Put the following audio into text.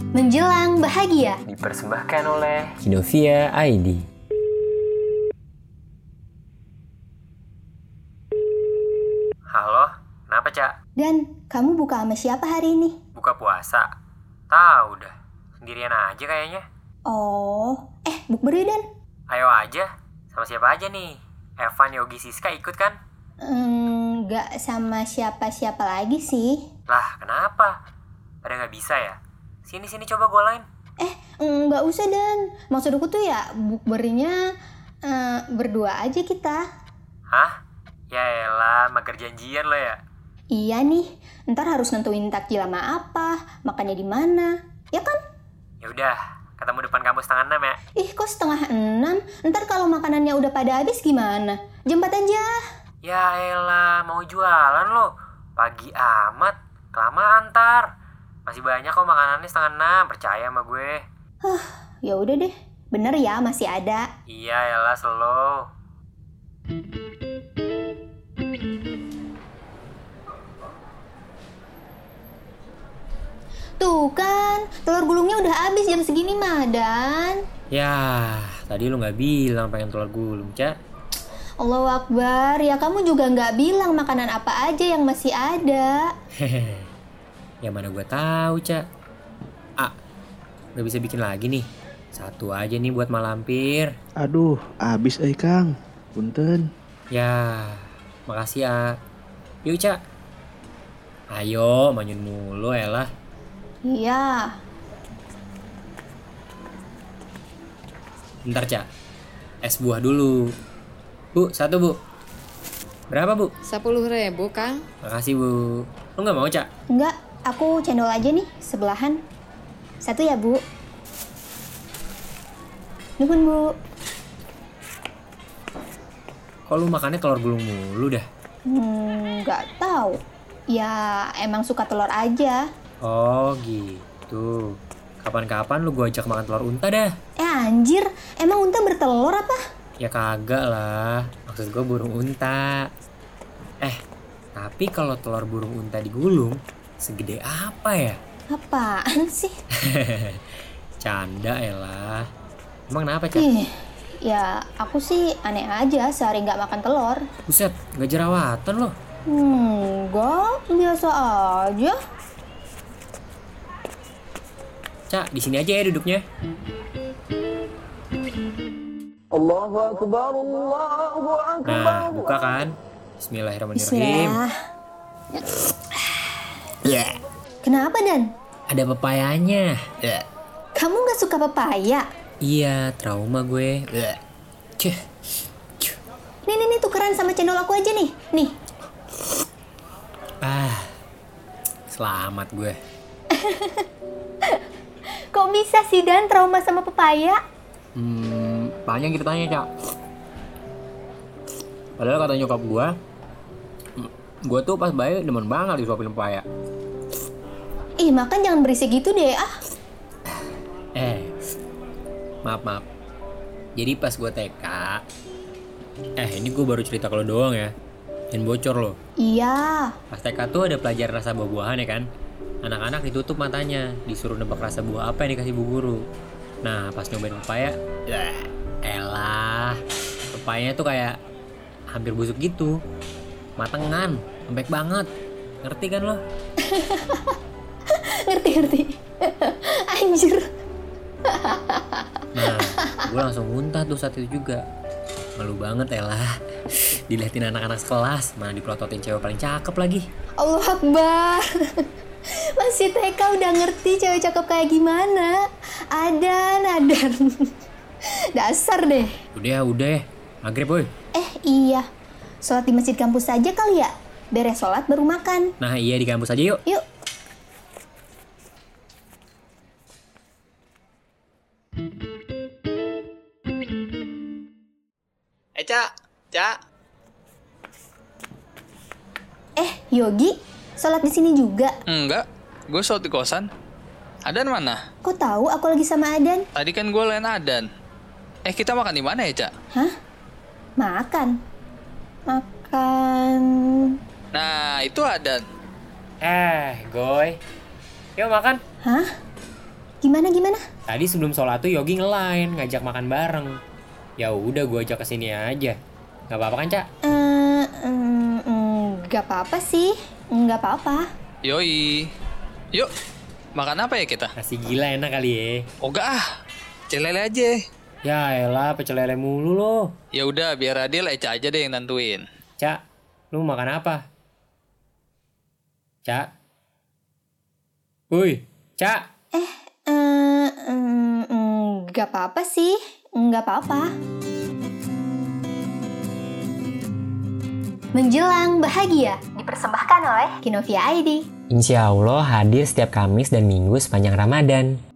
Menjelang bahagia. Dipersembahkan oleh Kinovia ID. Halo, kenapa Cak? Dan, kamu buka sama siapa hari ini? Buka puasa? Tahu dah, sendirian aja kayaknya. Oh, bukber yuk Dan. Ayo aja, sama siapa aja nih? Evan, Yogi, Siska ikut kan? Nggak sama siapa-siapa lagi sih. Lah, kenapa? Pada nggak bisa ya? Sini coba golain. Nggak usah Dan. Maksud aku tuh ya bukbernya berdua aja kita. Hah? Ya elah, mager janjian lo ya? Iya nih, ntar harus nentuin takjil sama apa, makannya di mana, ya kan? Ya udah, ketemu depan kampus setengah 6 ya? Ih, kok setengah 6? Ntar kalau makanannya udah pada habis gimana? Jam 4 aja. Ya elah, mau jualan lo? Pagi amat, kelamaan ntar. Masih banyak kok makanannya setengah 6, percaya sama gue. Ya udah deh, bener ya masih ada. Iya elah, slow. Tuh kan, telur gulungnya udah habis jam segini mah, Dan. Ya, tadi lu gak bilang pengen telur gulung, Cak. Allahu Akbar, ya kamu juga nggak bilang makanan apa aja yang masih ada. Hehehe, ya mana gue tahu, Cak. Gak bisa bikin lagi nih. Satu aja nih buat malampir. Aduh, abis Kang. Punten. Ya, makasih Yuk, Cak. Ayo, manyun mulu elah. Iya. Bentar, Cak. Es buah dulu. Bu, satu, Bu. Berapa, Bu? 10.000, Kang. Makasih, Bu. Lu gak mau, Cak? Enggak, aku cendol aja nih, sebelahan. Satu ya, Bu. Nuhun, Bu. Kok lu makannya telur gulung mulu dah? Nggak tahu. Ya, emang suka telur aja. Oh gitu. Kapan-kapan lu gua ajak makan telur unta dah. Anjir, emang unta bertelur apa? Ya kagak lah. Maksud gua burung unta. Tapi kalau telur burung unta digulung, segede apa ya? Apaan sih? Canda elah. Emang kenapa, Cak? Ya aku sih aneh aja sehari nggak makan telur. Buset, gak jerawatan loh. Enggak, biasa aja. Cak, di sini aja ya duduknya. Allahu Akbar, Allahu Akbar. Nah, buka kan? Bismillahirrahmanirrahim. Bismillah. Kenapa, Dan? Ada pepayanya. Kamu nggak suka pepaya? Iya, trauma gue. Nih, tukeran sama cendol aku aja nih. Nih. Selamat gue. Kok bisa sih, Dan, trauma sama pepaya? Panjang ceritanya, Cak. Padahal kata nyokap gue tuh pas bayi demen banget disuapin pepaya. Makan jangan berisik gitu deh, Maaf. Jadi pas gue TK, ini gue baru cerita kalau doang ya. Jangan bocor loh. Iya. Pas TK tuh ada pelajaran rasa buah-buahan ya kan. Anak-anak ditutup matanya, disuruh nebak rasa buah apa yang dikasih bu guru. Nah pas nyobain pepaya, pepayanya tuh kayak hampir busuk gitu. Matengan, lembek banget. Ngerti kan lo? Ngerti. Anjir. Nah, gue langsung muntah tuh saat itu juga. Malu banget elah. Diliatin anak-anak sekelas, mana dipelototin cewek paling cakep lagi. Allahu Akbar. Masih TK udah ngerti cewek cakep kayak gimana. Adan. Dasar deh. Udah. Maghrib boy. Iya. Sholat di masjid kampus saja kali ya. Beres sholat baru makan. Nah iya di kampus aja yuk. Yuk. Cak. Yogi, sholat di sini juga. Enggak, gue sholat di kosan. Adan mana? Kok tahu aku lagi sama Adan? Tadi kan gue lain Adan. Kita makan di mana ya, Cak? Hah? Makan. Nah, itu Adan. Goy. Yuk makan. Hah? Gimana? Tadi sebelum sholat tuh Yogi nge-line, ngajak makan bareng. Ya udah gue ajak kesini aja. Gak apa-apa kan, Cak? Gak apa-apa sih. Gak apa-apa. Yoi. Yuk, makan apa ya kita? Nasi gila enak kali ya. Enggak ah, pecel lele aja. Ya elah, pecel lele mulu lo. Ya udah, biar Adil Eca aja deh yang nentuin. Cak, lu makan apa? Cak? Woi, Cak? Gak apa-apa sih. Gak apa-apa. Menjelang bahagia dipersembahkan oleh Kinovia ID. Insya Allah hadir setiap Kamis dan Minggu sepanjang Ramadan.